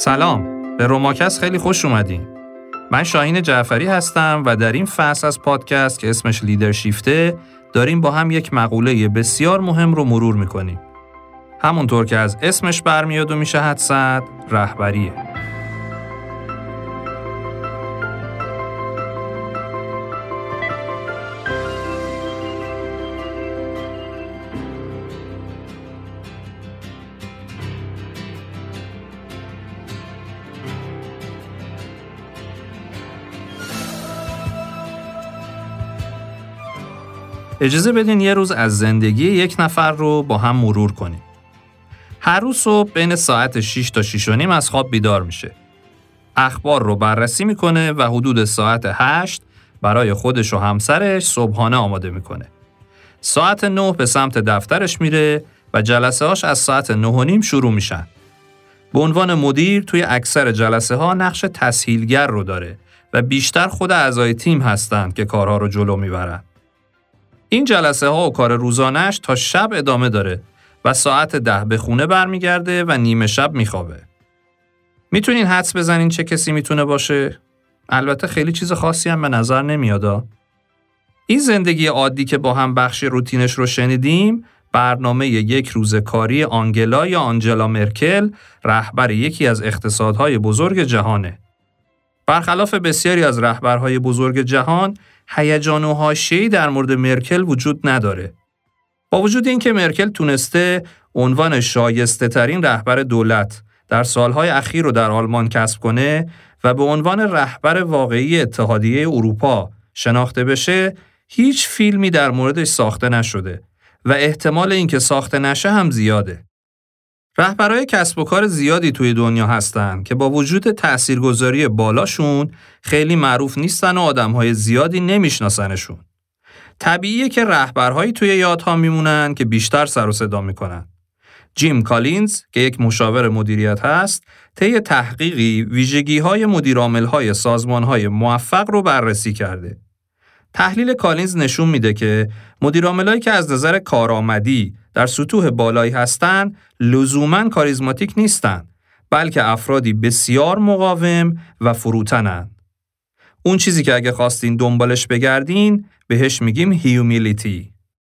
سلام، به روماکست خیلی خوش اومدین. من شاهین جعفری هستم و در این فصل از پادکست که اسمش لیدرشیفته داریم با هم یک مقوله بسیار مهم رو مرور میکنیم. همونطور که از اسمش برمیاد و میشه حدس زد، رهبریه. اجازه بدین یه روز از زندگی یک نفر رو با هم مرور کنیم. هر روز صبح بین ساعت 6 تا 6 و نیم از خواب بیدار میشه. اخبار رو بررسی میکنه و حدود ساعت 8 برای خودش و همسرش صبحانه آماده میکنه. ساعت 9 به سمت دفترش میره و جلسه هاش از ساعت 9 و نیم شروع میشن. به عنوان مدیر توی اکثر جلسه ها نقش تسهیلگر رو داره و بیشتر خود اعضای تیم هستن که کارها رو جلو میبرن. این جلسه ها و کار روزانش تا شب ادامه داره و ساعت 10 به خونه برمیگرده و نیمه شب میخوابه. میتونین حدس بزنین چه کسی میتونه باشه؟ البته خیلی چیز خاصی هم به نظر نمیاد. این زندگی عادی که با هم بخش روتینش رو شنیدیم، برنامه یک روز کاری آنجلا مرکل، رهبر یکی از اقتصادهای بزرگ جهانه. برخلاف بسیاری از رهبرهای بزرگ جهان، هیجان و حاشیه‌ای در مورد مرکل وجود نداره. با وجود اینکه مرکل تونسته عنوان شایسته ترین رهبر دولت در سالهای اخیر رو در آلمان کسب کنه و به عنوان رهبر واقعی اتحادیه اروپا شناخته بشه، هیچ فیلمی در موردش ساخته نشده و احتمال اینکه ساخته نشه هم زیاده. رهبرای کسب و کار زیادی توی دنیا هستن که با وجود تاثیرگذاری بالاشون خیلی معروف نیستن و آدمهای زیادی نمیشناسنشون. طبیعیه که رهبرهایی توی یادها میمونن که بیشتر سر و صدا میکنن. جیم کالینز که یک مشاور مدیریت هست، طی تحقیقی ویژگی‌های مدیرعامل‌های سازمان‌های موفق رو بررسی کرده. تحلیل کالینز نشون میده که مدیرعاملایی که از نظر کارآمدی در سطوح بالایی هستن لزوماً کاریزماتیک نیستن، بلکه افرادی بسیار مقاوم و فروتنن. اون چیزی که اگه خواستین دنبالش بگردین بهش میگیم هیومیلیتی.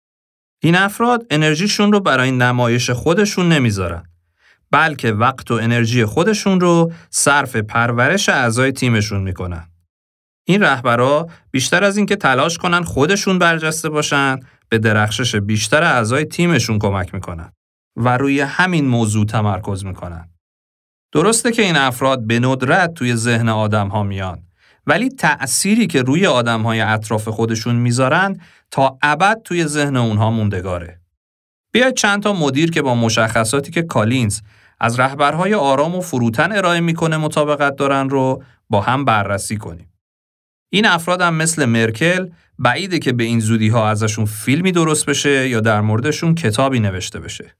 این افراد انرژیشون رو برای نمایش خودشون نمیذارن، بلکه وقت و انرژی خودشون رو صرف پرورش اعضای تیمشون میکنن. این رهبرا بیشتر از این که تلاش کنن خودشون برجسته باشن، به درخشش بیشتر اعضای تیمشون کمک میکنن و روی همین موضوع تمرکز میکنن. درسته که این افراد به ندرت توی ذهن آدم‌ها میان، ولی تأثیری که روی آدم‌های اطراف خودشون میذارن تا ابد توی ذهن اونها موندگاره. بیاید چند تا مدیر که با مشخصاتی که کالینز از رهبرهای آرام و فروتن ارائه میکنه مطابقت دارن رو با هم بررسی کنیم. این افراد هم مثل مرکل بعیده که به این زودی‌ها ازشون فیلمی درست بشه یا در موردشون کتابی نوشته بشه.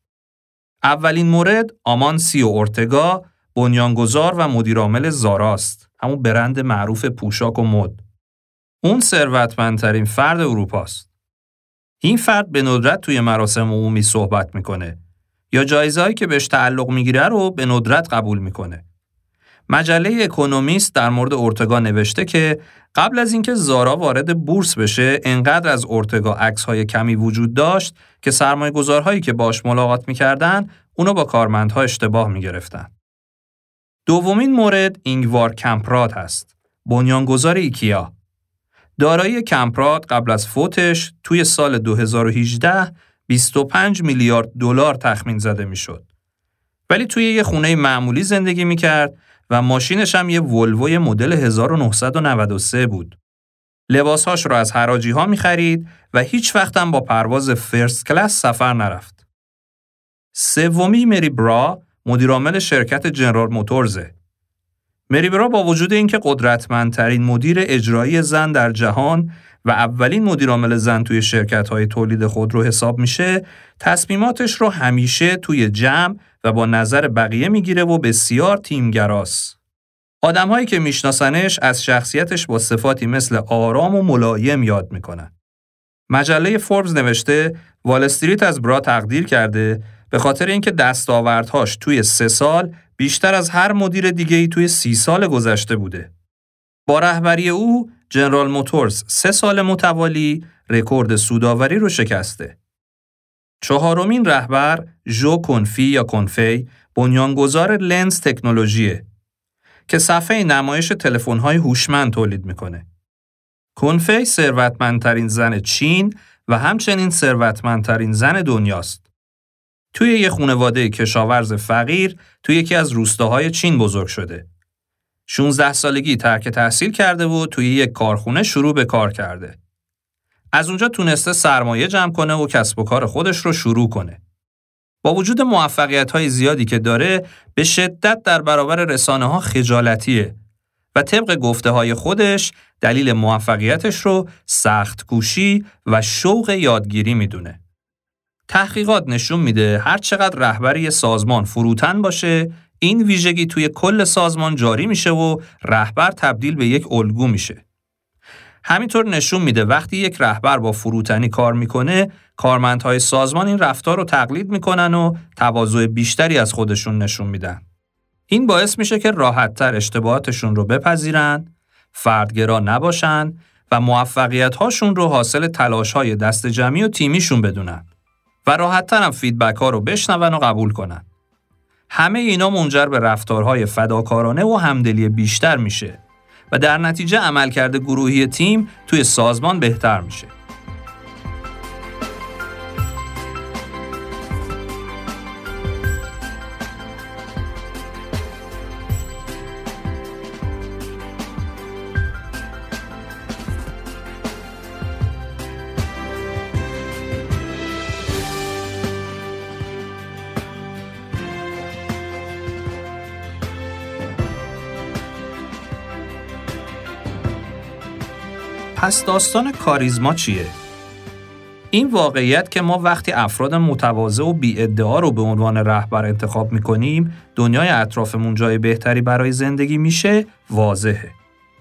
اولین مورد آمانسیو اورتگا، بنیانگذار و مدیرعامل زاراست، همون برند معروف پوشاک و مد. اون ثروتمندترین فرد اروپاست. این فرد به ندرت توی مراسم عمومی صحبت میکنه یا جایزه‌ای که بهش تعلق میگیره رو به ندرت قبول میکنه. مجله اکونومیست در مورد اورتگا نوشته که قبل از اینکه زارا وارد بورس بشه، انقدر از اورتگا عکس‌های کمی وجود داشت که سرمایه‌گذارهایی که باش ملاقات می‌کردن اونو با کارمندها اشتباه می‌گرفتن. دومین مورد اینگوار کمپراد هست، بنیانگذار ایکیا. دارایی کمپراد قبل از فوتش توی سال 2018 25 میلیارد دلار تخمین زده می‌شد. ولی توی یه خونه معمولی زندگی می‌کرد و ماشینش هم یه ولوی مدل 1993 بود. لباسهاش رو از حراجی‌ها می‌خرید و هیچ وقت هم با پرواز فرست کلاس سفر نرفت. سومی مری برا، مدیرعامل شرکت جنرال موتورزه. مری برا با وجود اینکه قدرتمندترین مدیر اجرایی زن در جهان و اولین مدیرعامل زن توی شرکت‌های تولید خودرو حساب میشه، تصمیماتش رو همیشه توی جمع و با نظر بقیه میگیره و بسیار تیمگراست. آدم‌هایی که میشناسنش از شخصیتش با صفاتی مثل آرام و ملایم یاد میکنن. مجله فوربس نوشته وال استریت از برا تقدیر کرده به خاطر اینکه دستاوردهاش توی 3 سال بیشتر از هر مدیر دیگه‌ای توی 30 سال گذشته بوده. با رهبری او، جنرال موتورز 3 سال متوالی رکورد سودآوری رو شکسته. چهارمین رهبر، ژو کنفی یا کنفی، بنیانگذار لنز تکنولوژیه که صفحه نمایش تلفن‌های هوشمند تولید میکنه. کنفی ثروتمندترین زن چین و همچنین ثروتمندترین زن دنیاست. توی یه خانواده کشاورز فقیر توی یکی از روستاهای چین بزرگ شده. 16 سالگی ترک تحصیل کرده و توی یک کارخونه شروع به کار کرده. از اونجا تونسته سرمایه جمع کنه و کسب و کار خودش رو شروع کنه. با وجود موفقیت‌های زیادی که داره، به شدت در برابر رسانه‌ها خجالتیه و طبق گفته‌های خودش دلیل موفقیتش رو سخت کوشی و شوق یادگیری میدونه. تحقیقات نشون میده هر چقدر رهبری سازمان فروتن باشه، این ویژگی توی کل سازمان جاری میشه و رهبر تبدیل به یک الگو میشه. همینطور نشون میده وقتی یک رهبر با فروتنی کار میکنه، کارمندهای سازمان این رفتار رو تقلید میکنن و تواضع بیشتری از خودشون نشون میدن. این باعث میشه که راحت‌تر اشتباهاتشون رو بپذیرن، فردگرا نباشن و موفقیت‌هاشون رو حاصل تلاش‌های دست جمعی و تیمیشون بدونن و راحت‌تر هم فیدبک‌ها رو بشنون و قبول کنن. همه اینا منجر به رفتارهای فداکارانه و همدلی بیشتر میشه و در نتیجه عملکرد گروهی تیم توی سازمان بهتر میشه. پس داستان کاریزما چیه؟ این واقعیت که ما وقتی افراد متواضع و بی‌ادعا رو به عنوان رهبر انتخاب می‌کنیم، دنیای اطرافمون جای بهتری برای زندگی میشه، واضحه.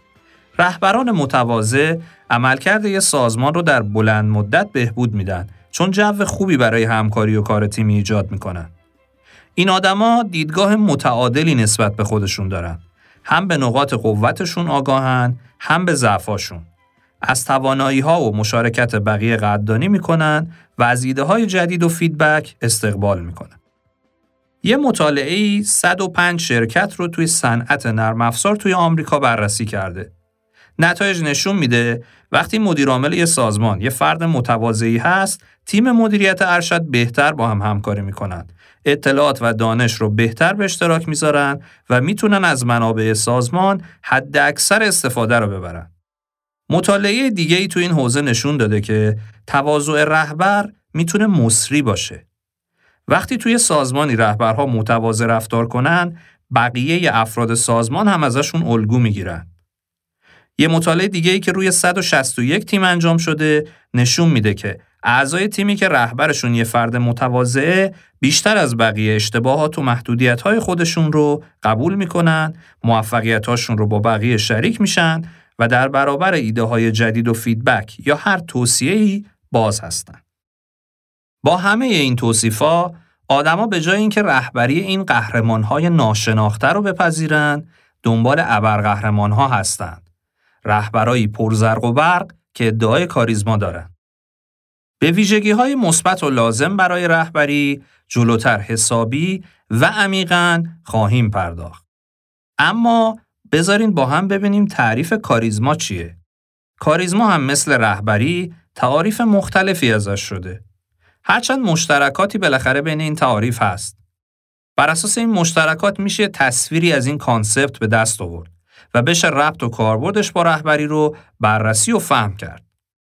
رهبران متواضع عملکرد یه سازمان رو در بلند مدت بهبود میدن، چون جو خوبی برای همکاری و کار تیمی ایجاد میکنن. این آدما دیدگاه متعادلی نسبت به خودشون دارن. هم به نقاط قوتشون آگاهن، هم به ضعفاشون. از توانایی‌ها و مشارکت بقیه قدردانی می‌کنن و از ایده‌های جدید و فیدبک استقبال می‌کنن. یه مطالعه‌ای 105 شرکت رو توی صنعت نرم افزار توی آمریکا بررسی کرده. نتایج نشون میده وقتی مدیر عامل یه سازمان یه فرد متواضعی هست، تیم مدیریت ارشد بهتر با هم همکاری می‌کنن. اطلاعات و دانش رو بهتر به اشتراک می‌ذارن و میتونن از منابع سازمان حد اکثر استفاده رو ببرن. مطالعه دیگه‌ای تو این حوزه نشون داده که تواضع رهبر میتونه مصری باشه. وقتی توی سازمانی رهبرها متواضع رفتار کنن، بقیه افراد سازمان هم ازشون الگو میگیرن. یه مطالعه دیگه‌ای که روی 161 تیم انجام شده نشون میده که اعضای تیمی که رهبرشون یه فرد متواضعه بیشتر از بقیه اشتباهات و محدودیت‌های خودشون رو قبول میکنن، موفقیت‌هاشون رو با بقیه شریک میشن و در برابر ایده‌های جدید و فیدبک یا هر توصیه‌ای باز هستن. با همه این توصیفا، آدما به جای اینکه رهبری این قهرمان‌های ناشناخته رو بپذیرن، دنبال ابرقهرمان‌ها هستند. رهبرایی پرزرق و برق که ادعای کاریزما دارن. به ویژگی‌های مثبت و لازم برای رهبری جلوتر حسابی و عمیقاً خواهیم پرداخت. اما بذارین با هم ببینیم تعریف کاریزما چیه. کاریزما هم مثل رهبری تعاریف مختلفی ازش شده. هرچند مشترکاتی بالاخره بین این تعاریف هست. بر اساس این مشترکات میشه تصویری از این کانسپت به دست آورد و بشه ربط و کاربردش با رهبری رو بررسی و فهم کرد.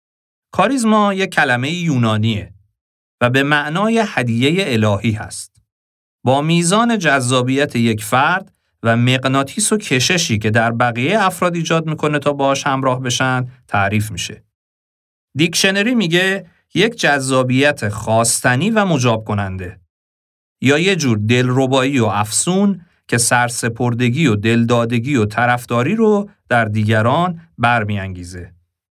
کاریزما یک کلمه یونانیه و به معنای هدیه الهی هست. با میزان جذابیت یک فرد و مغناطیس و کششی که در بقیه افراد ایجاد میکنه تا باهاش همراه بشن تعریف میشه. دیکشنری میگه یک جذابیت خواستنی و مجاب کننده یا یه جور دلربایی و افسون که سرسپردگی و دلدادگی و طرفداری رو در دیگران برمیانگیزه.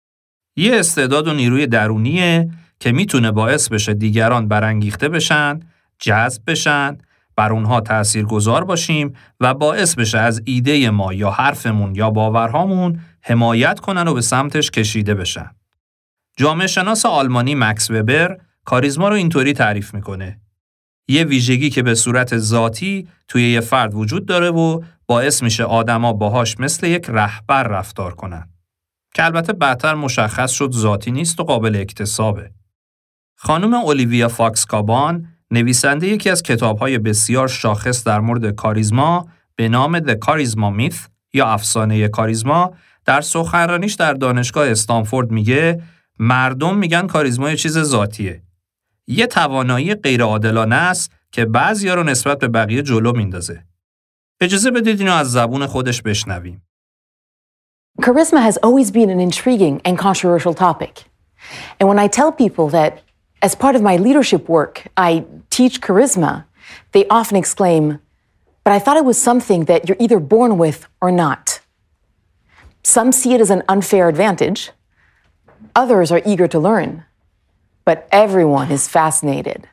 یه استعداد و نیروی درونیه که میتونه باعث بشه دیگران برانگیخته بشن، جذب بشن، بر اونها تأثیرگذار باشیم و باعث بشه از ایده ما یا حرفمون یا باورهامون حمایت کنن و به سمتش کشیده بشن. جامعه شناس آلمانی مکس وبر کاریزما رو اینطوری تعریف میکنه: یه ویژگی که به صورت ذاتی توی یه فرد وجود داره و باعث میشه آدما باهاش مثل یک رهبر رفتار کنن. که البته بعدتر مشخص شد ذاتی نیست و قابل اکتسابه. خانم اولیویا فاکس کابان، نویسنده یکی از کتاب‌های بسیار شاخص در مورد کاریزما به نام The Charisma Myth یا افسانه کاریزما، در سخنرانیش در دانشگاه استنفورد میگه مردم میگن کاریزما یه چیز ذاتیه. یه توانایی غیرعادلانه است که بعضیا رو نسبت به بقیه جلو میندازه. اجازه بدید اینو از زبون خودش بشنویم. Charisma has always been an intriguing and controversial topic. And when I tell people that as part of my leadership work, I teach charisma, they often exclaim, "But I thought it was something that you're either born with or not." Some see it as an unfair advantage. Others are eager to learn. But everyone is fascinated.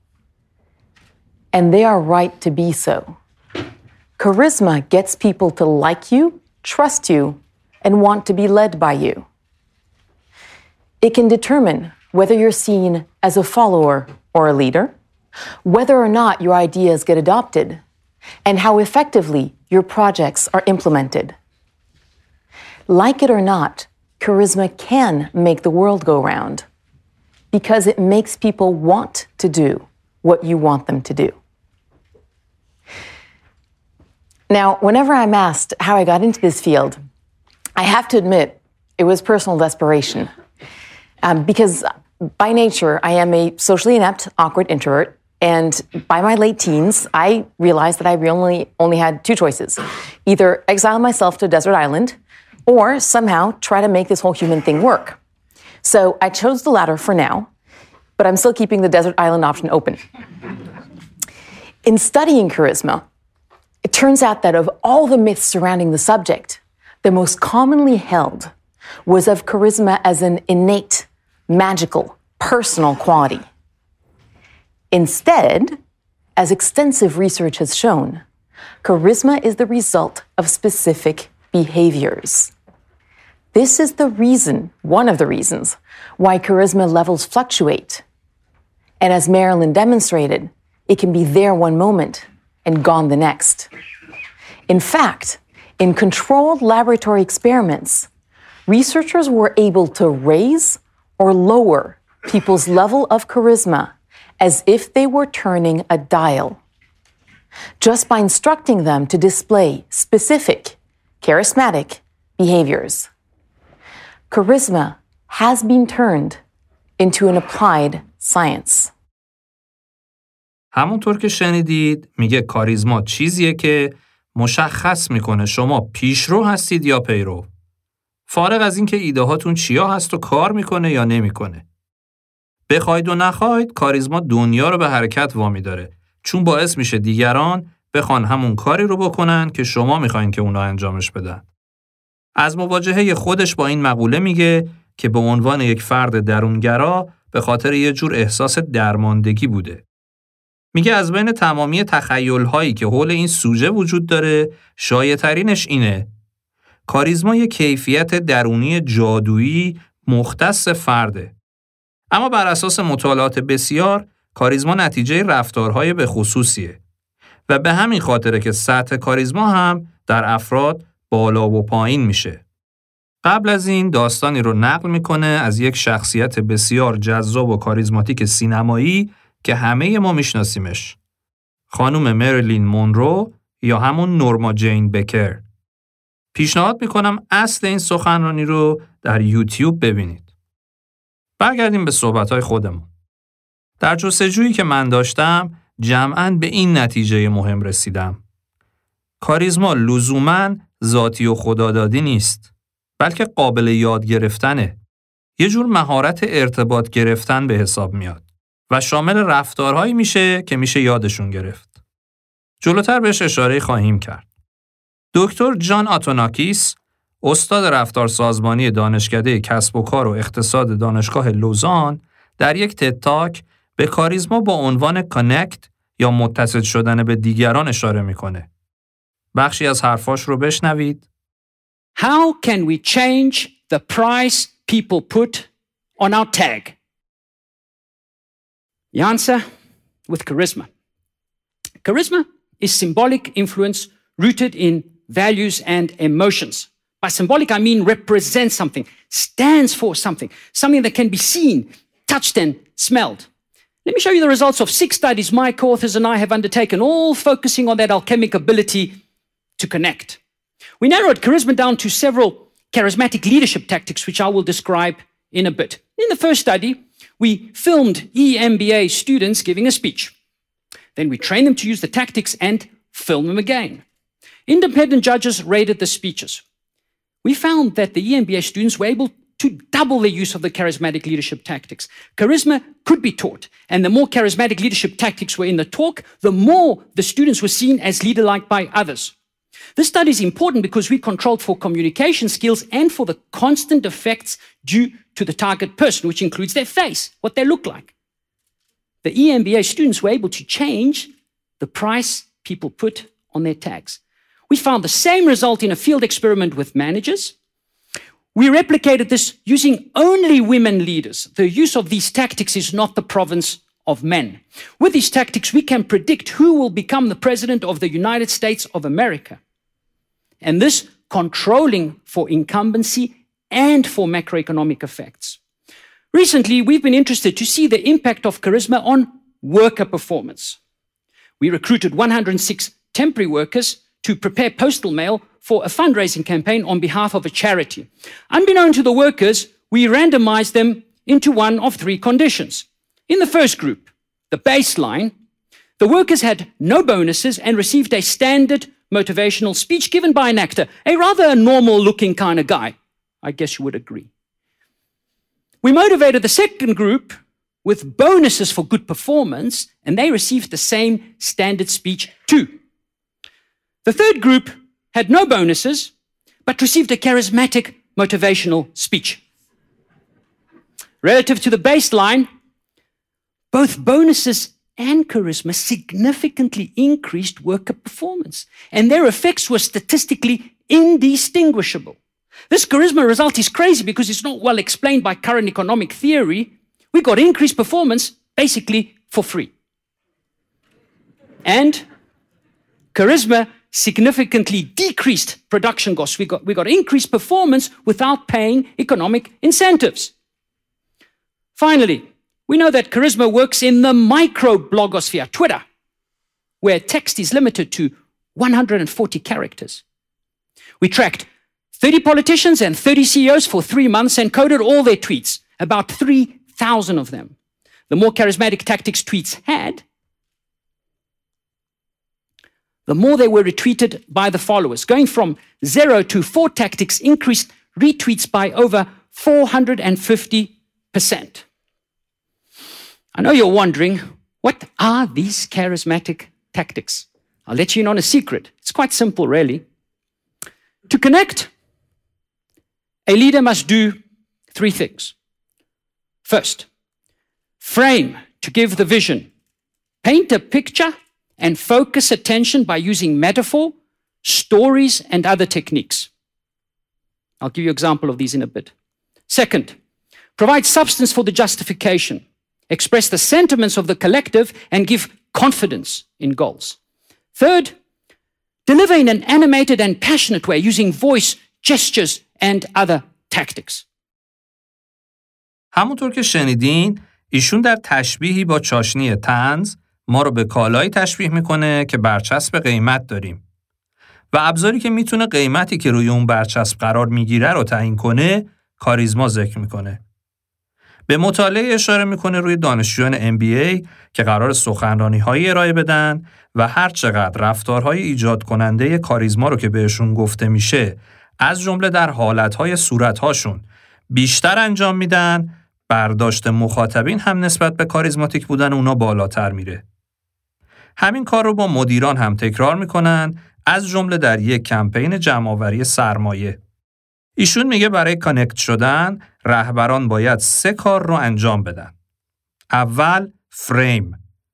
And they are right to be so. Charisma gets people to like you, trust you, and want to be led by you. It can determine whether you're seen as a follower or a leader, whether or not your ideas get adopted, and how effectively your projects are implemented. Like it or not, charisma can make the world go round because it makes people want to do what you want them to do. Now, whenever I'm asked how I got into this field, I have to admit it was personal desperation. Because by nature, I am a socially inept, awkward introvert. And by my late teens, I realized that I only had two choices. Either exile myself to a desert island or somehow try to make this whole human thing work. So I chose the latter for now, but I'm still keeping the desert island option open. In studying charisma, it turns out that of all the myths surrounding the subject, the most commonly held was of charisma as an innate, magical, personal quality. Instead, as extensive research has shown, charisma is the result of specific behaviors. This is one of the reasons, why charisma levels fluctuate. And as Marilyn demonstrated, it can be there one moment and gone the next. In fact, in controlled laboratory experiments, researchers were able to raise or lower people's level of charisma as if they were turning a dial, just by instructing them to display specific, charismatic behaviors. Charisma has been turned into an applied science. همونطور که شنیدید میگه کاریزما چیزیه که مشخص میکنه شما پیشرو هستید یا پیرو. فارغ از اینکه ایده هاتون چیا هست و کار میکنه یا نمیکنه. بخواید و نخواید کاریزما دنیا رو به حرکت وامی داره، چون باعث میشه دیگران بخوان همون کاری رو بکنن که شما میخواین که اونا انجامش بدن. از مواجهه خودش با این مقوله میگه که به عنوان یک فرد درونگرا به خاطر یه جور احساس درماندگی بوده. میگه از بین تمامی تخیل‌هایی که حول این سوژه وجود داره، شایع‌ترینش اینه: کاریزما یک کیفیت درونی جادویی مختص فرده. اما بر اساس مطالعات بسیار، کاریزما نتیجه رفتارهای به خصوصیه و به همین خاطره که سطح کاریزما هم در افراد بالا و پایین میشه. قبل از این داستانی رو نقل میکنه از یک شخصیت بسیار جذاب و کاریزماتیک سینمایی که همه ما میشناسیمش. خانم مریلین مونرو یا همون نورما جین بکر. پیشنهاد میکنم اصل این سخنرانی رو در یوتیوب ببینید. برگردیم به صحبت‌های خودمون. در جستجویی که من داشتم جمعاً به این نتیجه مهم رسیدم: کاریزما لزوماً ذاتی و خدادادی نیست، بلکه قابل یاد گرفتنه. یه جور مهارت ارتباط گرفتن به حساب میاد و شامل رفتارهایی میشه که میشه یادشون گرفت. جلوتر بهش اشاره خواهیم کرد. دکتر جان آتوناکیس، استاد رفتار سازمانی دانشکده کسب و کار و اقتصاد دانشگاه لوزان، در یک تد تاک به کاریزما با عنوان کانکت یا متصل شدن به دیگران اشاره میکنه. بخشی از حرفاش رو بشنوید. How can we change the price people put on our tag? The answer, with charisma. Charisma is symbolic influence rooted in values and emotions. By symbolic, I mean represents something, stands for something that can be seen, touched, and smelled. Let me show you the results of 6 studies my co-authors and I have undertaken, all focusing on that alchemic ability to connect. We narrowed charisma down to several charismatic leadership tactics, which I will describe in a bit. In the first study, we filmed EMBA students giving a speech. Then we trained them to use the tactics and film them again. Independent judges rated the speeches. We found that the EMBA students were able to double their use of the charismatic leadership tactics. Charisma could be taught, and the more charismatic leadership tactics were in the talk, the more the students were seen as leader-like by others. This study is important because we controlled for communication skills and for the constant effects due to the target person, which includes their face, what they look like. The EMBA students were able to change the price people put on their tags. We found the same result in a field experiment with managers. We replicated this using only women leaders. The use of these tactics is not the province of men. With these tactics, we can predict who will become the president of the United States of America. And this controlling for incumbency and for macroeconomic effects. Recently, we've been interested to see the impact of charisma on worker performance. We recruited 106 temporary workers to prepare postal mail for a fundraising campaign on behalf of a charity. Unbeknown to the workers, we randomized them into one of 3 conditions. In the first group, the baseline, the workers had no bonuses and received a standard motivational speech given by an actor, a rather normal-looking kind of guy. I guess you would agree. We motivated the second group with bonuses for good performance, and they received the same standard speech too. The third group had no bonuses, but received a charismatic motivational speech. Relative to the baseline, both bonuses and charisma significantly increased worker performance, and their effects were statistically indistinguishable. This charisma result is crazy because it's not well explained by current economic theory. We got increased performance basically for free. And charisma significantly decreased production costs. We got increased performance without paying economic incentives. Finally, we know that charisma works in the micro-blogosphere, Twitter, where text is limited to 140 characters. We tracked 30 politicians and 30 CEOs for 3 months and coded all their tweets, about 3,000 of them. The more charismatic tactics tweets had, the more they were retweeted by the followers. Going from 0 to 4 tactics increased retweets by over 450%. I know you're wondering, what are these charismatic tactics? I'll let you in on a secret. It's quite simple, really. To connect, a leader must do 3 things. First, frame to give the vision. Paint a picture and focus attention by using metaphor, stories, and other techniques. I'll give you an example of these in a bit. Second, provide substance for the justification. Express the sentiments of the collective and give confidence in goals. Third, deliver in an animated and passionate way using voice, gestures, and other tactics. همونطور که شنیدین، ایشون در تشبیهی با چاشنی طنز ما رو به کالایی تشبیه میکنه که برچسب قیمت داریم و ابزاری که میتونه قیمتی که روی اون برچسب قرار میگیره رو تعیین کنه، کاریزما ذکر میکنه. به مطالعه اشاره میکنه روی دانشجویان MBA که قرار سخنرانی‌هایی ارائه بدن و هر چقدر رفتارهای ایجاد کننده کاریزما رو که بهشون گفته میشه از جمله در حالتهای صورتهاشون بیشتر انجام میدن، برداشت مخاطبین هم نسبت به کاریزماتیک بودن اونا بالاتر میره. همین کار رو با مدیران هم تکرار میکنن، از جمله در یک کمپین جمع‌آوری سرمایه. ایشون میگه برای کانکت شدن رهبران باید 3 کار رو انجام بدن. اول، فریم.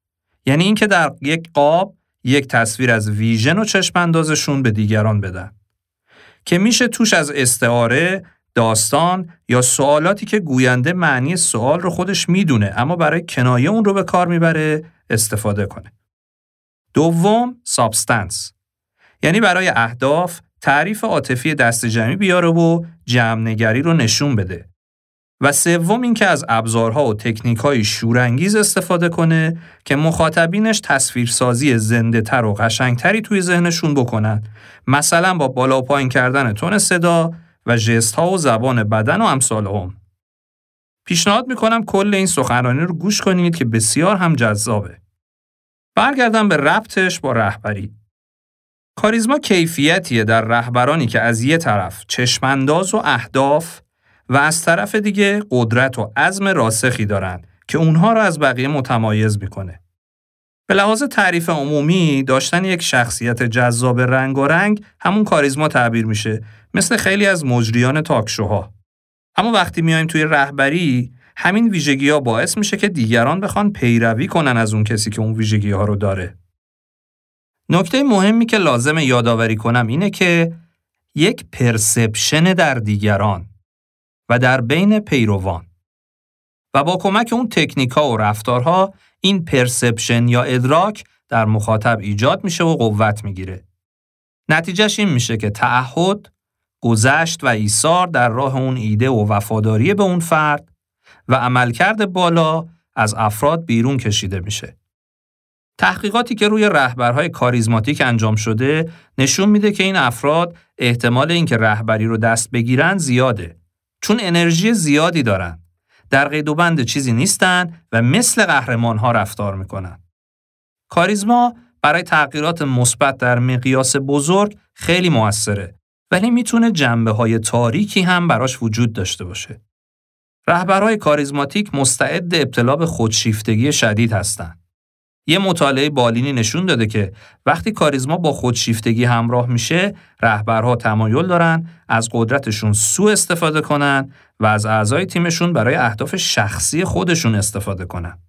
یعنی اینکه در یک قاب یک تصویر از ویژن و چشم اندازشون به دیگران بدن که میشه توش از استعاره، داستان یا سوالاتی که گوینده معنی سوال رو خودش میدونه اما برای کنایه اون رو به کار میبره استفاده کنه. دوم، سابستنس. یعنی برای اهداف تعریف عاطفی دسته‌جمعی بیاره و جمع‌نگری رو نشون بده. و سوم این که از ابزارها و تکنیک‌های شورانگیز استفاده کنه که مخاطبینش تصویرسازی زنده‌تر و قشنگتری توی ذهنشون بکنن. مثلا با بالا و پایین کردن تون صدا و ژست‌ها و زبان بدن و امثالهم. پیشنهاد میکنم کل این سخنرانی رو گوش کنید که بسیار هم جذابه. برگردم به ربطش با رهبری. کاریزما کیفیتیه در رهبرانی که از یه طرف چشمانداز و اهداف و از طرف دیگه قدرت و عزم راسخی دارن که اونها رو از بقیه متمایز میکنه. به لحاظ تعریف عمومی داشتن یک شخصیت جذاب رنگارنگ همون کاریزما تعبیر میشه، مثل خیلی از مجریان تاکشوها. اما وقتی میایم توی رهبری، همین ویژگی‌ها باعث میشه که دیگران بخوان پیروی کنن از اون کسی که اون ویژگی‌ها رو داره. نکته مهمی که لازمه یادآوری کنم اینه که یک پرسپشن در دیگران و در بین پیروان و با کمک اون تکنیک‌ها و رفتارها این پرسپشن یا ادراک در مخاطب ایجاد میشه و قوت میگیره. نتیجهش این میشه که تعهد، گذشت و ایثار در راه اون ایده و وفاداری به اون فرد و عملکرد بالا از افراد بیرون کشیده میشه. تحقیقاتی که روی رهبرهای کاریزماتیک انجام شده نشون میده که این افراد احتمال اینکه رهبری رو دست بگیرن زیاده، چون انرژی زیادی دارن، در قید و بند چیزی نیستن و مثل قهرمان‌ها رفتار میکنن. کاریزما برای تغییرات مثبت در مقیاس بزرگ خیلی موثره، ولی میتونه جنبه‌های تاریکی هم براش وجود داشته باشه. رهبرهای کاریزماتیک مستعد ابتلا به خودشیفتگی شدید هستن. یه مطالعه بالینی نشون داده که وقتی کاریزما با خودشیفتگی همراه میشه، رهبرها تمایل دارن از قدرتشون سوء استفاده کنن و از اعضای تیمشون برای اهداف شخصی خودشون استفاده کنن.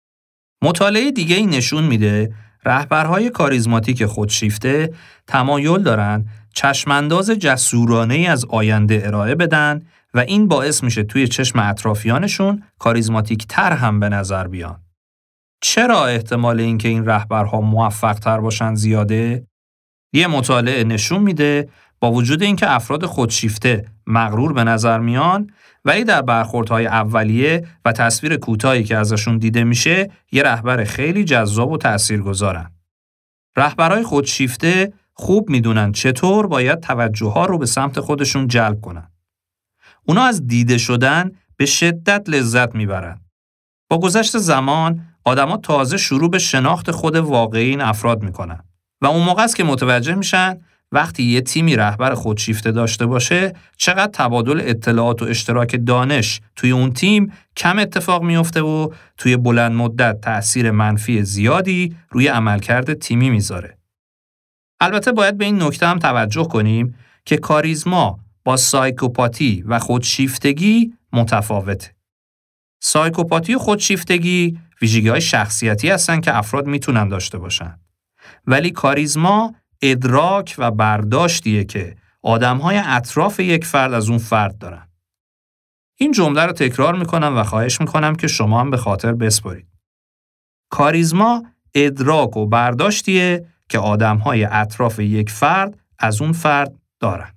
مطالعه دیگه ای نشون میده رهبرهای کاریزماتیک خودشیفته تمایل دارن چشمانداز جسورانه‌ای از آینده ارائه بدن و این باعث میشه توی چشم اطرافیانشون کاریزماتیک تر هم به نظر بیان. چرا احتمال اینکه این رهبرها موفق تر باشن زیاده؟ یه مطالعه نشون میده با وجود اینکه افراد خودشیفته مغرور به نظر میان، ولی در برخوردهای اولیه و تصویر کوتاهی که ازشون دیده میشه، یه رهبر خیلی جذاب و تاثیرگذارن. رهبرهای خودشیفته خوب میدونن چطور باید توجه‌ها رو به سمت خودشون جلب کنن. اونا از دیده شدن به شدت لذت میبرن. با گذشت زمان، آدما تازه شروع به شناخت خود واقعی این افراد میکنن و اون موقع است که متوجه میشن وقتی یه تیمی رهبر خودشیفته داشته باشه چقدر تبادل اطلاعات و اشتراک دانش توی اون تیم کم اتفاق میفته و توی بلند مدت تأثیر منفی زیادی روی عملکرد تیمی میذاره. البته باید به این نکته هم توجه کنیم که کاریزما با سایکوپاتی و خودشیفتگی متفاوته. سایکوپاتی و خودشیفتگی ویژگی‌های شخصیتی هستن که افراد میتونن داشته باشن. ولی کاریزما ادراک و برداشتیه که آدم‌های اطراف یک فرد از اون فرد دارن. این جمله رو تکرار میکنم و خواهش میکنم که شما هم به خاطر بسپارید. کاریزما ادراک و برداشتیه که آدم‌های اطراف یک فرد از اون فرد دارن.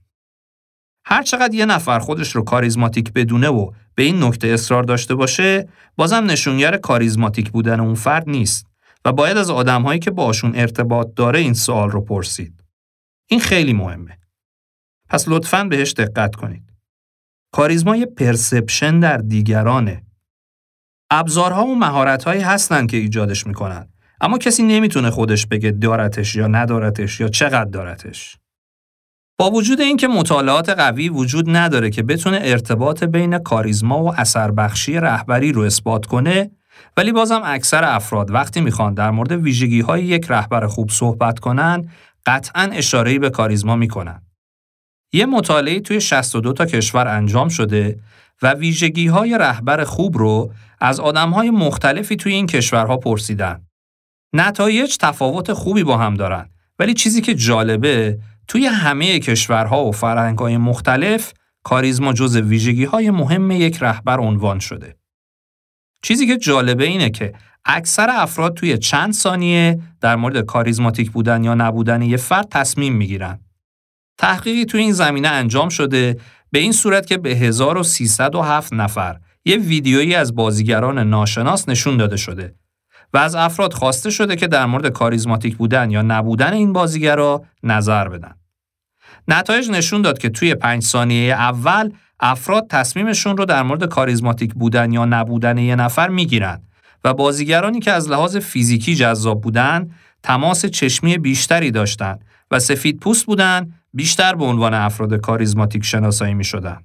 هر چقدر یه نفر خودش رو کاریزماتیک بدونه و به این نکته اصرار داشته باشه، بازم نشونگر کاریزماتیک بودن اون فرد نیست و باید از آدم‌هایی که باشون ارتباط داره این سوال رو پرسید. این خیلی مهمه. پس لطفاً بهش دقت کنید. کاریزما یه پرسپشن در دیگرانه. ابزارها و مهارت‌هایی هستن که ایجادش میکنن، اما کسی نمیتونه خودش بگه دارتش یا ندارتش یا چقدر دارتش. با وجود اینکه مطالعات قوی وجود نداره که بتونه ارتباط بین کاریزما و اثربخشی رهبری رو اثبات کنه، ولی بازم اکثر افراد وقتی میخوان در مورد ویژگی‌های یک رهبر خوب صحبت کنن، قطعاً اشاره‌ای به کاریزما میکنن. یه مطالعه توی 62 تا کشور انجام شده و ویژگی‌های رهبر خوب رو از آدم‌های مختلفی توی این کشورها پرسیدن. نتایج تفاوت خوبی با هم دارن، ولی چیزی که جالبه توی همه کشورها و فرهنگ‌های مختلف کاریزما جزو ویژگی‌های مهم یک رهبر عنوان شده. چیزی که جالبه اینه که اکثر افراد توی چند ثانیه در مورد کاریزماتیک بودن یا نبودن یه فرد تصمیم میگیرن. تحقیقی توی این زمینه انجام شده به این صورت که به 1307 نفر یه ویدیویی از بازیگران ناشناس نشون داده شده و از افراد خواسته شده که در مورد کاریزماتیک بودن یا نبودن این بازیگرا نظر بدن. نتایج نشون داد که توی 5 ثانیه اول افراد تصمیمشون رو در مورد کاریزماتیک بودن یا نبودن یه نفر میگیرن و بازیگرانی که از لحاظ فیزیکی جذاب بودن، تماس چشمی بیشتری داشتن و سفید پوست بودن، بیشتر به عنوان افراد کاریزماتیک شناسایی میشدن.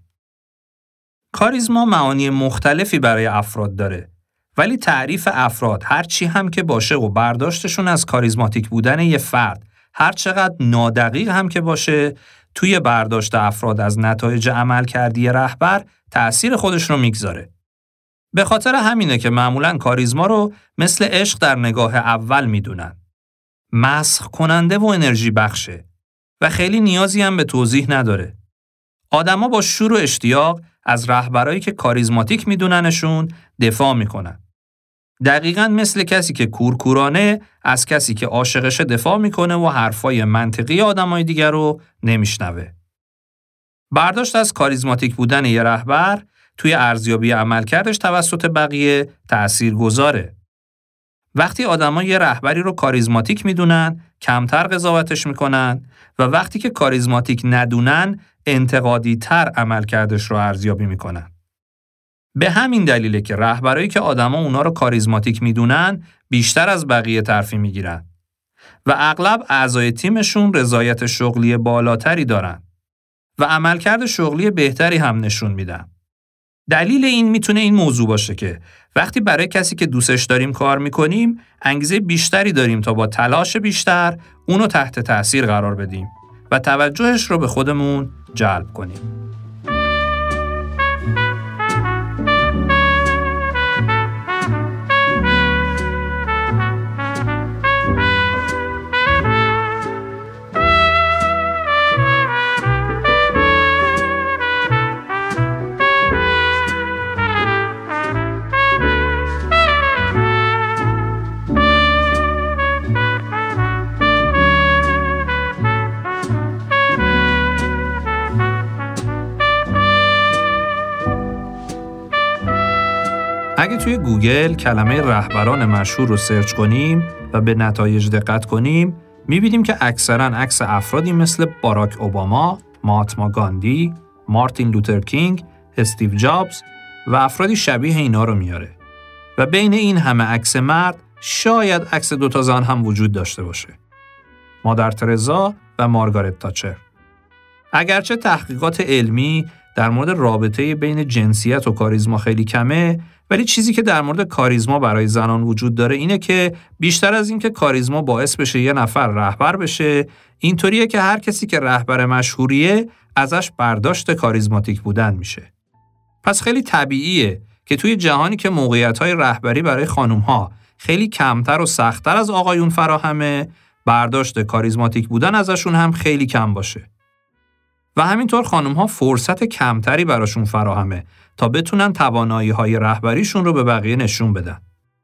کاریزما معانی مختلفی برای افراد داره، ولی تعریف افراد هر چی هم که باشه و برداشتشون از کاریزماتیک بودن یه فرد هر چقدر نادقیق هم که باشه، توی برداشت افراد از نتایج عملکردی رهبر تأثیر خودش رو میگذاره. به خاطر همینه که معمولاً کاریزما رو مثل عشق در نگاه اول میدونن. مسخ کننده و انرژی بخشه و خیلی نیازی هم به توضیح نداره. آدما با شور و اشتیاق از رهبرایی که کاریزماتیک میدوننشون دفاع میکنن. دقیقاً مثل کسی که کورکورانه از کسی که عاشقشه دفاع میکنه و حرفای منطقی آدمای دیگر رو نمیشنوه. برداشت از کاریزماتیک بودن یه رهبر توی ارزیابی عملکردش توسط بقیه تأثیرگذاره. وقتی آدما یه رهبری رو کاریزماتیک میدونن، کمتر قضاوتش میکنن و وقتی که کاریزماتیک ندونن، انتقادی تر عملکردش رو ارزیابی میکنن. به همین دلیله که رهبرایی که آدما اونا رو کاریزماتیک میدونن، بیشتر از بقیه ترفیع میگیرن و اغلب اعضای تیمشون رضایت شغلی بالاتری دارن و عملکرد شغلی بهتری هم نشون میدن. دلیل این میتونه این موضوع باشه که وقتی برای کسی که دوستش داریم کار میکنیم، انگیزه بیشتری داریم تا با تلاش بیشتر اونو تحت تأثیر قرار بدیم و توجهش رو به خودمون جلب کنیم. اگه توی گوگل کلمه رهبران مشهور رو سرچ کنیم و به نتایج دقت کنیم، می‌بینیم که اکثراً عکس افرادی مثل باراک اوباما، مهاتما گاندی، مارتین لوتر کینگ، استیو جابز و افرادی شبیه اینا رو میاره. و بین این همه عکس مرد، شاید عکس 2 زن هم وجود داشته باشه. مادر ترزا و مارگارت تاچر. اگرچه تحقیقات علمی در مورد رابطه بین جنسیت و کاریزما خیلی کمه، ولی چیزی که در مورد کاریزما برای زنان وجود داره اینه که بیشتر از این که کاریزما باعث بشه یه نفر رهبر بشه، اینطوریه که هر کسی که رهبر مشهوریه ازش برداشت کاریزماتیک بودن میشه. پس خیلی طبیعیه که توی جهانی که موقعیت‌های رهبری برای خانم‌ها خیلی کمتر و سخت‌تر از آقایون فراهمه، برداشت کاریزماتیک بودن ازشون هم خیلی کم باشه. و همینطور خانم‌ها فرصت کمتری براشون فراهمه تا بتونن توانایی‌های رهبریشون رو به بقیه نشون بدن.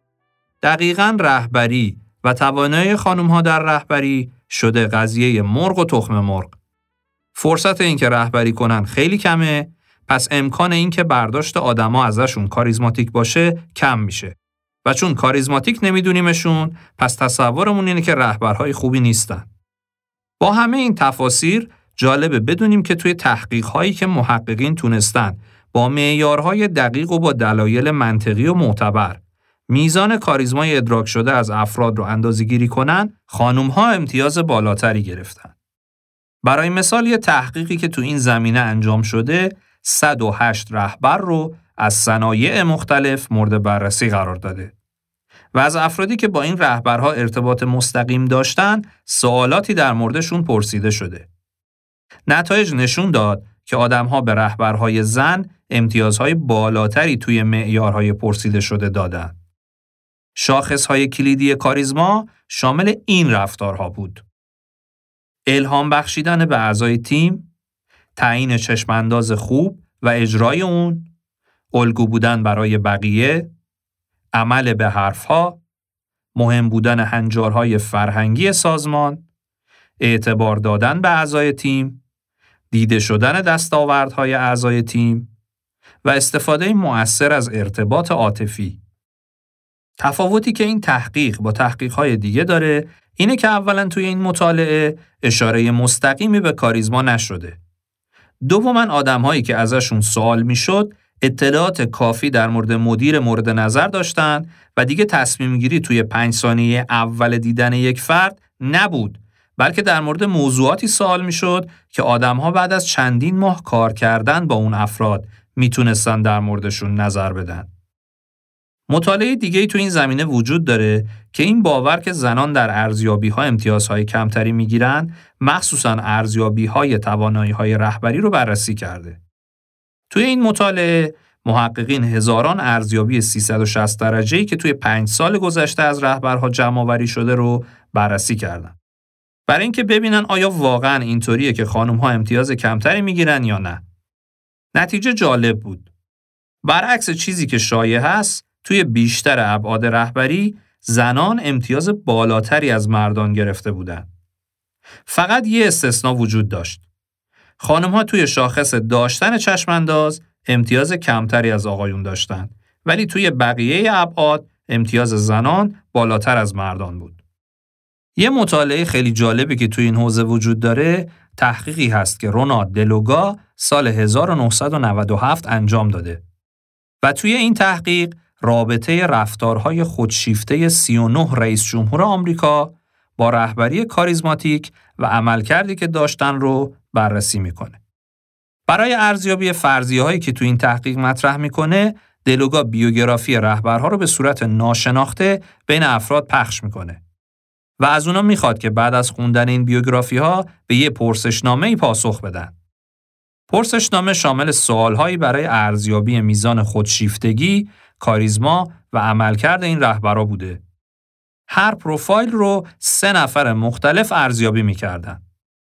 دقیقاً رهبری و توانایی خانم‌ها در رهبری شده قضیه مرغ و تخم مرغ. فرصت این که رهبری کنن خیلی کمه، پس امکان این که برداشت آدما ازشون کاریزماتیک باشه کم میشه. و چون کاریزماتیک نمیدونیمشون، پس تصورمون اینه که رهبرهای خوبی نیستن. با همه این تفاسیر جالبه بدونیم که توی تحقیق‌هایی که محققین تونستن با معیارهای دقیق و با دلایل منطقی و معتبر میزان کاریزمای ادراک شده از افراد رو اندازه‌گیری کنن، خانم‌ها امتیاز بالاتری گرفتن. برای مثال یه تحقیقی که تو این زمینه انجام شده، 108 رهبر رو از صنایع مختلف مورد بررسی قرار داده. و از افرادی که با این رهبرها ارتباط مستقیم داشتن، سوالاتی در موردشون پرسیده شده. نتایج نشون داد که آدم‌ها به رهبرهای زن امتیازهای بالاتری توی معیارهای پرسیده شده دادن. شاخصهای کلیدی کاریزما شامل این رفتارها بود: الهام بخشیدن به اعضای تیم، تعیین چشمانداز خوب و اجرای اون، الگو بودن برای بقیه، عمل به حرفها، مهم بودن هنجارهای فرهنگی سازمان، اعتبار دادن به اعضای تیم، دیده شدن دستاوردهای اعضای تیم و استفاده مؤثر از ارتباط عاطفی. تفاوتی که این تحقیق با تحقیق‌های دیگه داره اینه که اولاً توی این مطالعه اشاره مستقیمی به کاریزما نشده. دوماً آدم‌هایی که ازشون سوال میشد اطلاعات کافی در مورد مدیر مورد نظر داشتن و دیگه تصمیم گیری توی 5 ثانیه اول دیدن یک فرد نبود، بلکه در مورد موضوعاتی سوال میشد که آدم‌ها بعد از چندین ماه کار کردن با اون افراد میتونستن در موردشون نظر بدن. مطالعه دیگه‌ای تو این زمینه وجود داره که این باور که زنان در ارزیابی‌ها امتیازهای کمتری میگیرن، مخصوصاً ارزیابی‌های توانایی‌های رهبری رو بررسی کرده. توی این مطالعه محققین هزاران ارزیابی 360 درجه‌ای که توی 5 سال گذشته از رهبرها جمع‌آوری شده رو بررسی کردن. برای اینکه ببینن آیا واقعاً اینطوریه که خانم‌ها امتیاز کمتری میگیرن یا نه. نتیجه جالب بود. برعکس چیزی که شایع هست، توی بیشتر ابعاد رهبری زنان امتیاز بالاتری از مردان گرفته بودن. فقط یه استثناء وجود داشت. خانم‌ها توی شاخص داشتن چشمانداز امتیاز کمتری از آقایون داشتن، ولی توی بقیه ابعاد امتیاز زنان بالاتر از مردان بود. یه مطالعه خیلی جالبی که توی این حوزه وجود داره، تحقیقی هست که رونالد دلوگا سال 1997 انجام داده. و توی این تحقیق رابطه رفتارهای خودشیفته 39 رئیس جمهور آمریکا با رهبری کاریزماتیک و عملکردی که داشتن رو بررسی میکنه. برای ارزیابی فرضیه‌هایی که توی این تحقیق مطرح میکنه، دلوگا بیوگرافی رهبرها رو به صورت ناشناخته بین افراد پخش میکنه و از اونا میخواد که بعد از خوندن این بیوگرافی‌ها به یه پرسشنامه‌ای پاسخ بدن. پرسشنامه شامل سوال‌هایی برای ارزیابی میزان خودشیفتگی، کاریزما و عملکرد این رهبرا بوده. هر پروفایل رو 3 نفر مختلف ارزیابی می‌کردن.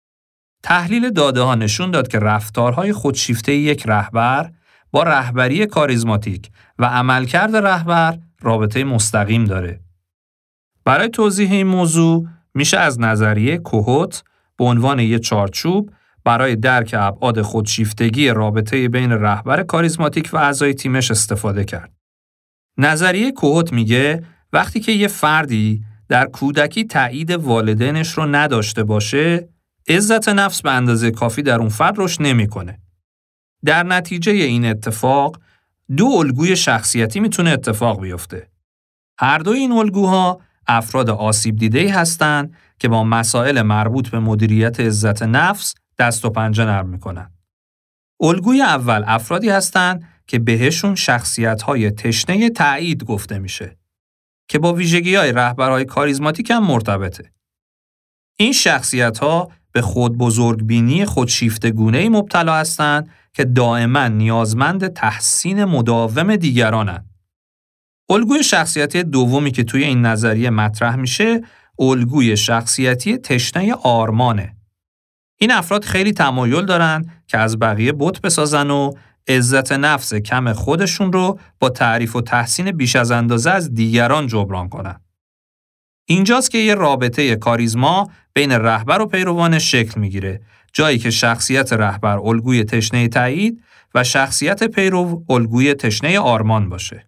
تحلیل داده‌ها نشون داد که رفتارهای خودشیفته یک رهبر با رهبری کاریزماتیک و عملکرد رهبر رابطه مستقیم داره. برای توضیح این موضوع میشه از نظریه کوهوت به عنوان یک چارچوب برای درک ابعاد خودشیفتگی رابطه بین رهبر کاریزماتیک و اعضای تیمش استفاده کرد. نظریه کوهوت میگه وقتی که یه فردی در کودکی تایید والدینش رو نداشته باشه، عزت نفس به اندازه کافی در اون فرد رشد نمیکنه. در نتیجه این اتفاق 2 الگوی شخصیتی میتونه اتفاق بیفته. هر دوی این الگوها افراد آسیب دیده‌ای هستند که با مسائل مربوط به مدیریت عزت نفس دست و پنجه نرم میکنن. الگوی اول افرادی هستند که بهشون شخصیت‌های تشنه تایید گفته میشه که با ویژگی‌های رهبرهای کاریزماتیک هم مرتبطه. این شخصیت‌ها به خود بزرگبینی خودشیفتگونه‌ای مبتلا هستند که دائما نیازمند تحسین مداوم دیگرانند. الگوی شخصیتی دومی که توی این نظریه مطرح میشه، الگوی شخصیتی تشنه آرمانه. این افراد خیلی تمایل دارن که از بقیه بت بسازن و عزت نفس کم خودشون رو با تعریف و تحسین بیش از اندازه از دیگران جبران کنن. اینجاست که یه رابطه کاریزما بین رهبر و پیروانش شکل میگیره، جایی که شخصیت رهبر الگوی تشنه تایید و شخصیت پیرو الگوی تشنه آرمان باشه.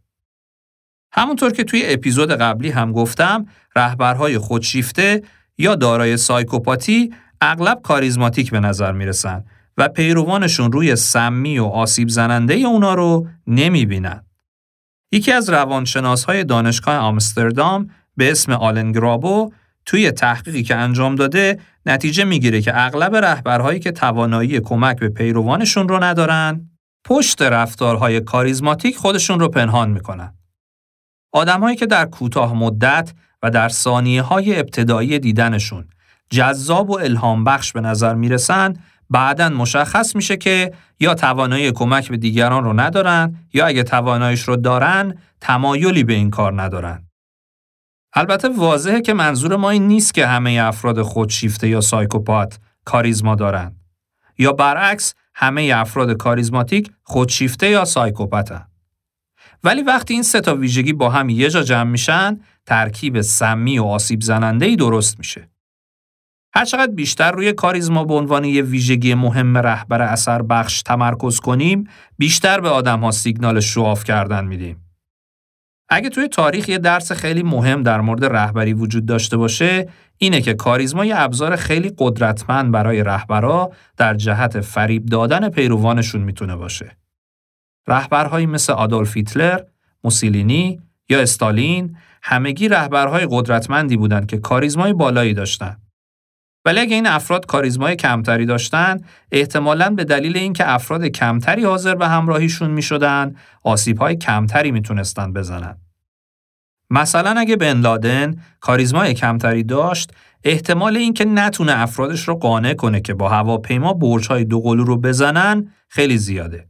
همونطور که توی اپیزود قبلی هم گفتم، رهبرهای خودشیفته یا دارای سایکوپاتی اغلب کاریزماتیک به نظر میرسن و پیروانشون روی سمی و آسیب زننده اونا رو نمیبینن. یکی از روانشناسهای دانشگاه آمستردام به اسم آلن گرابو توی تحقیقی که انجام داده نتیجه میگیره که اغلب رهبرهایی که توانایی کمک به پیروانشون رو ندارن، پشت رفتارهای کاریزماتیک خودشون رو پنهان میکنن. آدم‌هایی که در کوتاه مدت و در ثانیه‌های ابتدایی دیدنشون جذاب و الهام بخش به نظر میرسن، بعداً مشخص میشه که یا توانایی کمک به دیگران رو ندارن یا اگه تواناییش رو دارن، تمایلی به این کار ندارن. البته واضحه که منظور ما این نیست که همه افراد خودشیفته یا سایکوپات کاریزما دارن. یا برعکس همه افراد کاریزماتیک خودشیفته یا سایکوپاتن. ولی وقتی این سه تا ویژگی با هم یه جا جمع میشن، ترکیب سمی و آسیب زننده‌ای درست میشه. هر چقدر بیشتر روی کاریزما به عنوان یه ویژگی مهم رهبر اثر بخش تمرکز کنیم، بیشتر به آدم‌ها سیگنال شواف کردن میدیم. اگه توی تاریخ یه درس خیلی مهم در مورد رهبری وجود داشته باشه، اینه که کاریزما یه ابزار خیلی قدرتمند برای رهبرا در جهت فریب دادن پیروانشون میتونه باشه. رهبرهایی مثل آدولف هیتلر، موسولینی یا استالین همگی رهبرهای قدرتمندی بودند که کاریزمای بالایی داشتن. ولی اگه این افراد کاریزمای کمتری داشتن، احتمالاً به دلیل اینکه افراد کمتری حاضر به همراهیشون میشدن، آسیب‌های کمتری میتونستن بزنن. مثلا اگه بن لادن کاریزمای کمتری داشت، احتمال اینکه نتونه افرادش رو قانع کنه که با هواپیما برج‌های دوقلو رو بزنن خیلی زیاده.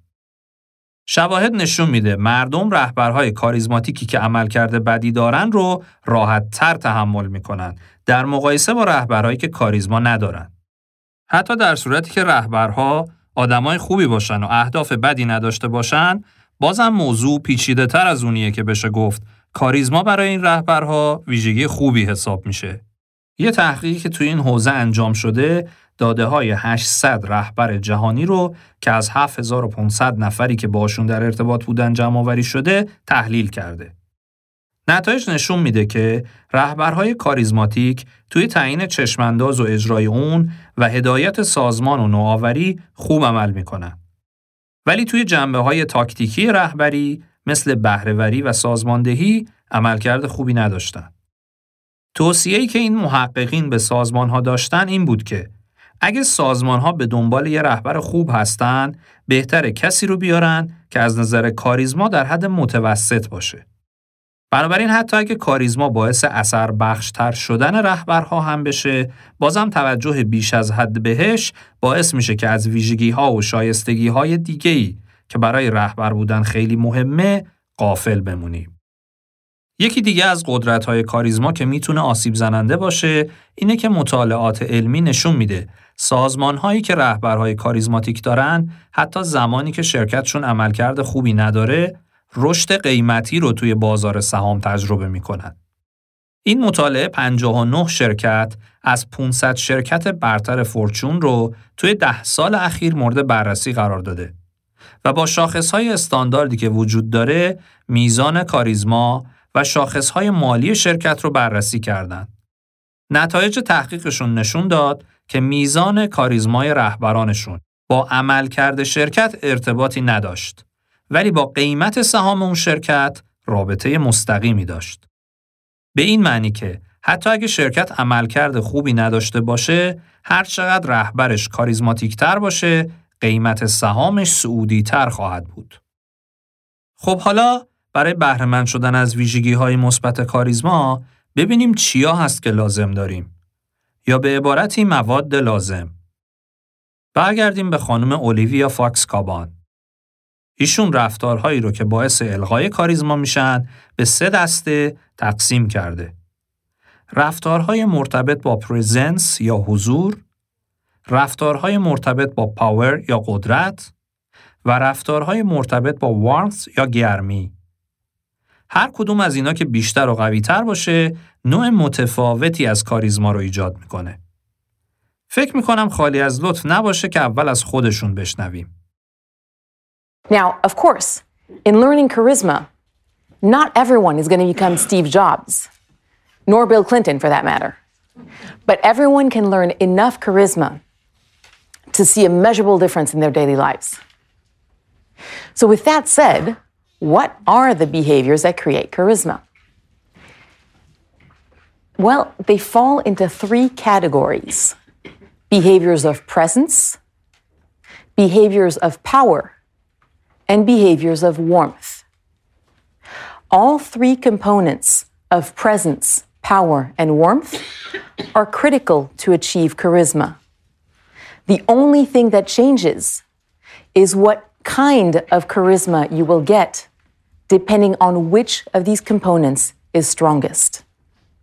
شواهد نشون میده مردم رهبرهای کاریزماتیکی که عملکرد بدی دارن رو راحت‌تر تحمل میکنن در مقایسه با رهبرهایی که کاریزما ندارن. حتی در صورتی که رهبرها آدمای خوبی باشن و اهداف بدی نداشته باشن، بازم موضوع پیچیده‌تر از اونیه که بشه گفت کاریزما برای این رهبرها ویژگی خوبی حساب میشه. یه تحقیقی که توی این حوزه انجام شده، داده‌های 800 رهبر جهانی رو که از 7500 نفری که باشون در ارتباط بودن جمع‌آوری شده تحلیل کرده. نتایج نشون میده که رهبرهای کاریزماتیک توی تعیین چشمانداز و اجرای اون و هدایت سازمان و نوآوری خوب عمل میکنن. ولی توی جنبه‌های تاکتیکی رهبری مثل بهره‌وری و سازماندهی عملکرد خوبی نداشتن. توصیه‌ای که این محققین به سازمان‌ها داشتن این بود که اگه سازمان‌ها به دنبال یه رهبر خوب هستن، بهتره کسی رو بیارن که از نظر کاریزما در حد متوسط باشه. بنابراین حتی اگه کاریزما باعث اثر بخشتر شدن رهبرها هم بشه، بازم توجه بیش از حد بهش باعث میشه که از ویژگی‌ها و شایستگی‌های دیگه‌ای که برای رهبر بودن خیلی مهمه، غافل بمونیم. یکی دیگه از قدرت‌های کاریزما که میتونه آسیب زننده باشه، اینه که مطالعات علمی نشون میده سازمان‌هایی که رهبرهای کاریزماتیک دارن، حتی زمانی که شرکتشون عملکرد خوبی نداره، رشد قیمتی رو توی بازار سهام تجربه میکنن. این مطالعه 59 شرکت از 500 شرکت برتر فورچون رو توی 10 سال اخیر مورد بررسی قرار داده و با شاخص‌های استانداردی که وجود داره، میزان کاریزما و شاخص‌های مالی شرکت رو بررسی کردند. نتایج تحقیقشون نشون داد که میزان کاریزمای رهبرانشون با عملکرد شرکت ارتباطی نداشت، ولی با قیمت سهام اون شرکت رابطه مستقیمی داشت. به این معنی که حتی اگه شرکت عملکرد خوبی نداشته باشه، هر چقدر رهبرش کاریزماتیک‌تر باشه، قیمت سهامش صعودی‌تر خواهد بود. خب حالا برای بهره‌مند شدن از ویژگی‌های مثبت کاریزما، ببینیم چیا هست که لازم داریم. یا به عبارتی مواد لازم. برگردیم به خانم اولیویا فاکس کابان. ایشون رفتارهایی رو که باعث الغای کاریزما میشن به 3 دسته تقسیم کرده. رفتارهای مرتبط با پرزنس یا حضور، رفتارهای مرتبط با پاور یا قدرت و رفتارهای مرتبط با وارمث یا گرمی. هر کدوم از اینا که بیشتر و قوی‌تر باشه، نوع متفاوتی از کاریزما رو ایجاد میکنه. فکر میکنم خالی از لطف نباشه که اول از خودشون بشنویم. Now, of course, in learning charisma, not everyone is going to become Steve Jobs, nor Bill Clinton for that matter. But everyone can learn enough charisma to see a measurable difference in their daily lives. So with that said, what are the behaviors that create charisma? Well, they fall into 3 categories: behaviors of presence, behaviors of power, and behaviors of warmth. All 3 components of presence, power, and warmth are critical to achieve charisma. The only thing that changes is what kind of charisma you will get, depending on which of these components is strongest.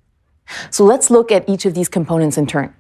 So let's look at each of these components in turn.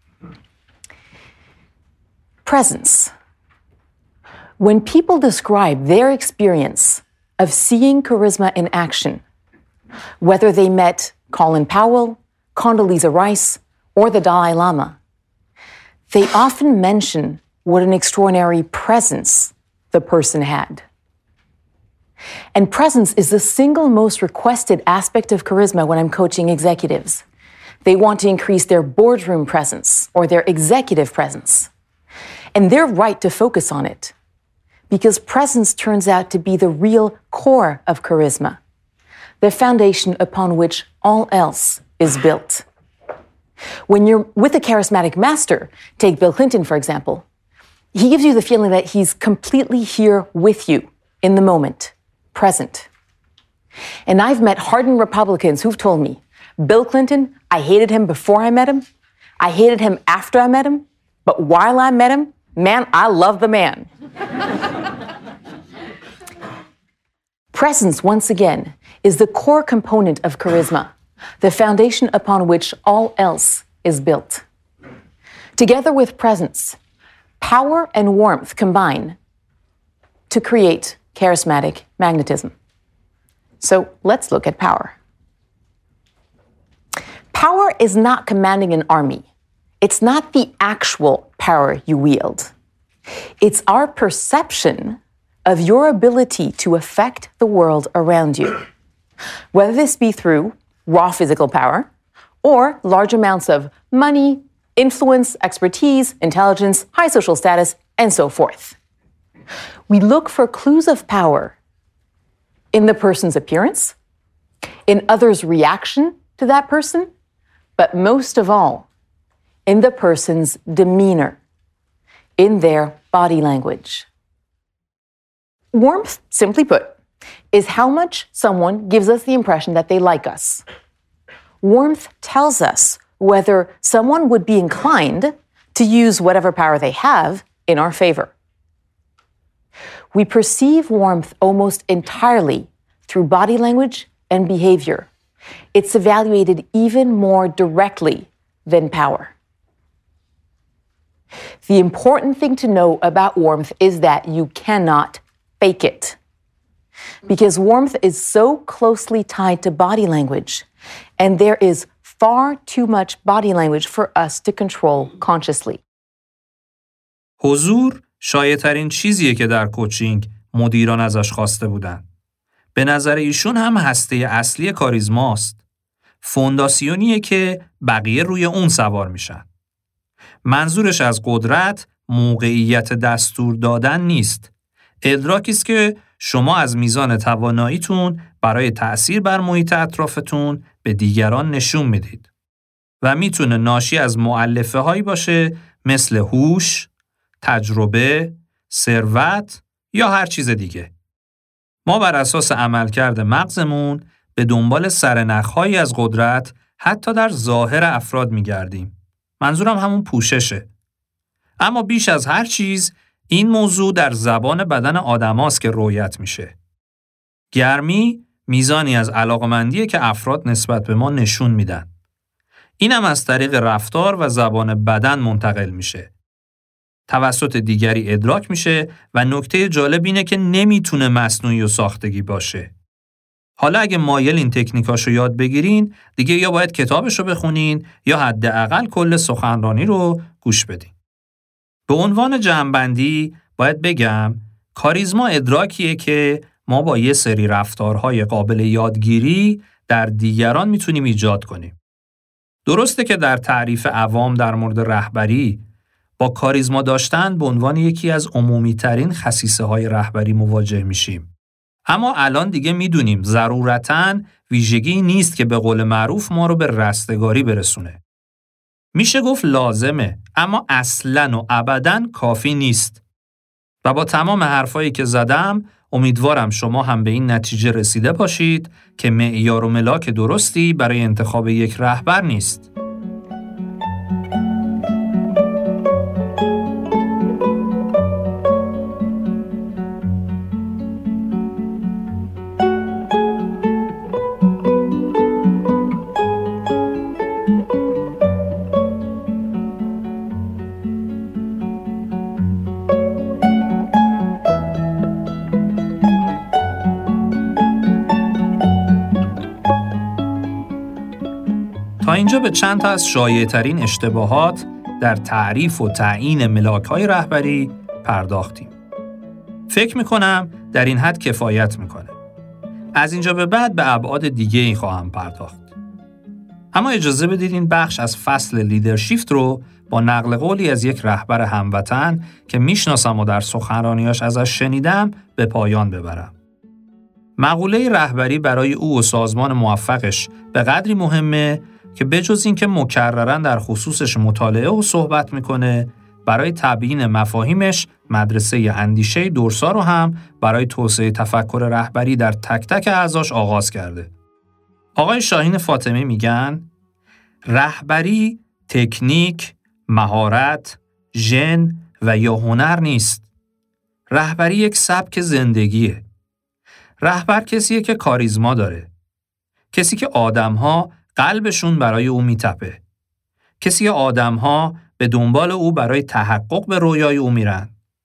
Presence. When people describe their experience of seeing charisma in action, whether they met Colin Powell, Condoleezza Rice, or the Dalai Lama, they often mention what an extraordinary presence the person had. And presence is the single most requested aspect of charisma when I'm coaching executives. They want to increase their boardroom presence or their executive presence. And they're right to focus on it, because presence turns out to be the real core of charisma, the foundation upon which all else is built. When you're with a charismatic master, take Bill Clinton, for example, he gives you the feeling that he's completely here with you in the moment, present. And I've met hardened Republicans who've told me, Bill Clinton, I hated him before I met him, I hated him after I met him, but while I met him, man, I love the man. Presence, once again, is the core component of charisma, the foundation upon which all else is built. Together with presence, power and warmth combine to create charismatic magnetism. So let's look at power. Power is not commanding an army. It's not the actual power you wield. It's our perception of your ability to affect the world around you, whether this be through raw physical power or large amounts of money, influence, expertise, intelligence, high social status, and so forth. We look for clues of power in the person's appearance, in others' reaction to that person, but most of all, in the person's demeanor, in their body language. Warmth, simply put, is how much someone gives us the impression that they like us. Warmth tells us whether someone would be inclined to use whatever power they have in our favor. We perceive warmth almost entirely through body language and behavior. It's evaluated even more directly than power. The important thing to know about warmth is that you cannot fake it, because warmth is so closely tied to body language, and there is far too much body language for us to control consciously. حضور شایع‌ترین چیزیه که در کوچینگ مدیران ازش خواسته بودن. به نظر ایشون هم هسته اصلی کاریزماست. فونداسیونیه که بقیه روی اون سوار میشن. منظورش از قدرت موقعیت دستور دادن نیست. ادراکی است که شما از میزان تواناییتون برای تأثیر بر محیط اطرافتون به دیگران نشون میدید. و میتونه ناشی از مؤلفه هایی باشه مثل هوش، تجربه، ثروت یا هر چیز دیگه. ما بر اساس عملکرد مغزمون به دنبال سرنخ‌هایی از قدرت حتی در ظاهر افراد میگردیم. منظورم همون پوششه. اما بیش از هر چیز این موضوع در زبان بدن آدماست که رؤیت میشه. گرمی میزانی از علاقمندیه که افراد نسبت به ما نشون میدن. اینم از طریق رفتار و زبان بدن منتقل میشه. توسط دیگری ادراک میشه و نکته جالب اینه که نمیتونه مصنوعی و ساختگی باشه. حالا اگه مایل این تکنیکاشو یاد بگیرین، دیگه یا باید کتابشو بخونین یا حداقل کل سخنرانی رو گوش بدین. به عنوان جمع‌بندی باید بگم کاریزما ادراکیه که ما با یه سری رفتارهای قابل یادگیری در دیگران میتونیم ایجاد کنیم. درسته که در تعریف عوام در مورد رهبری با کاریزما داشتن به عنوان یکی از عمومی‌ترین خصیصه‌های رهبری مواجه میشیم. اما الان دیگه میدونیم ضرورتاً ویژگی نیست که به قول معروف ما رو به رستگاری برسونه. میشه گفت لازمه، اما اصلاً و ابداً کافی نیست. و با تمام حرفایی که زدم، امیدوارم شما هم به این نتیجه رسیده باشید که معیار و ملاک درستی برای انتخاب یک رهبر نیست. تا اینجا به چند تا از شایع‌ترین اشتباهات در تعریف و تعیین ملاک‌های رهبری پرداختیم. فکر می‌کنم در این حد کفایت می‌کنه. از اینجا به بعد به ابعاد دیگه‌ای خواهم پرداخت. اما اجازه بدید این بخش از فصل لیدرشیفت رو با نقل قولی از یک رهبر هموطن که میشناسم و در سخنرانیاش ازش شنیدم به پایان ببرم. مقوله رهبری برای او و سازمان موفقش به قدری مهمه که بجز این که مکرراً در خصوصش مطالعه و صحبت میکنه، برای تبیین مفاهیمش مدرسه اندیشه دورسا رو هم برای توسعه تفکر رهبری در تک تک اعضاش آغاز کرده. آقای شاهین فاطمی میگن رهبری تکنیک، مهارت، ژن و یا هنر نیست. رهبری یک سبک زندگیه. رهبر کسیه که کاریزما داره. کسی که آدم‌ها قلبشون برای او میتپه. کسی که آدم‌ها به دنبال او برای تحقق به رویای او میرن.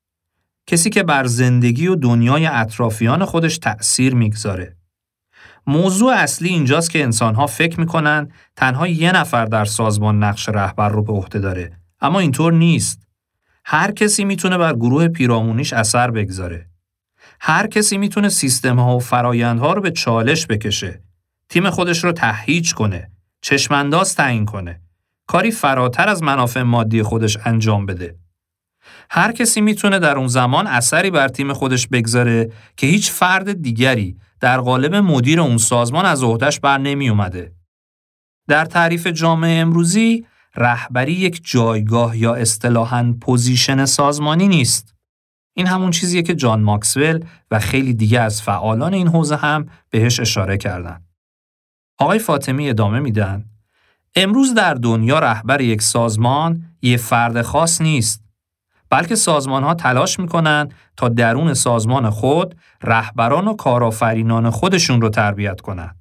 کسی که بر زندگی و دنیای اطرافیان خودش تأثیر میگذاره. موضوع اصلی اینجاست که انسان‌ها فکر میکنن تنها یه نفر در سازمان نقش رهبر رو به عهده داره. اما اینطور نیست. هر کسی میتونه بر گروه پیرامونیش اثر بگذاره. هر کسی میتونه سیستم‌ها و فرآیندها رو به چالش بکشه. تیم خودش رو تهییج کنه. چشم‌انداز تعیین کنه. کاری فراتر از منافع مادی خودش انجام بده. هر کسی میتونه در اون زمان اثری بر تیم خودش بگذاره که هیچ فرد دیگری در قالب مدیر اون سازمان از عهده‌اش بر نمی اومده. در تعریف جامعه امروزی، رهبری یک جایگاه یا اصطلاحاً پوزیشن سازمانی نیست. این همون چیزیه که جان ماکسول و خیلی دیگه از فعالان این حوزه هم بهش اشاره کردن. آقای فاطمی ادامه میدن: امروز در دنیا رهبر یک سازمان یه فرد خاص نیست، بلکه سازمان‌ها تلاش می‌کنن تا درون سازمان خود رهبران و کارآفرینان خودشون رو تربیت کنن.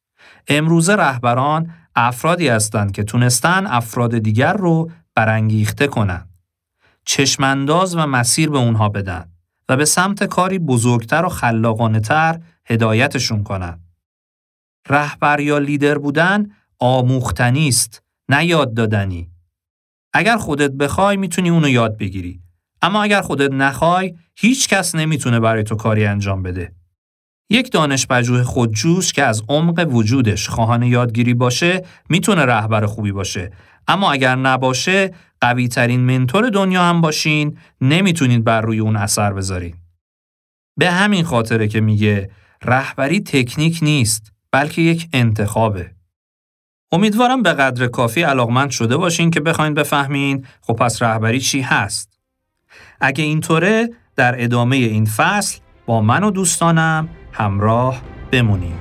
امروز رهبران افرادی هستند که تونستن افراد دیگر رو برانگیخته کنن، چشمانداز و مسیر به اونها بدن و به سمت کاری بزرگتر و خلاقانه‌تر هدایتشون کنن. رهبر یا لیدر بودن آموختنی است، نه یاد دادنی. اگر خودت بخوای میتونی اونو یاد بگیری، اما اگر خودت نخوای هیچ کس نمیتونه برای تو کاری انجام بده. یک دانشپژوه خودجوش که از عمق وجودش خواهان یادگیری باشه میتونه رهبر خوبی باشه، اما اگر نباشه قوی ترین منتور دنیا هم باشین نمیتونید بر روی اون اثر بذارین. به همین خاطره که میگه رهبری تکنیک نیست بلکه یک انتخابه. امیدوارم به قدر کافی علاقمند شده باشین که بخواین بفهمین خب پس رهبری چی هست. اگه اینطوره در ادامه این فصل با من و دوستانم همراه بمونین.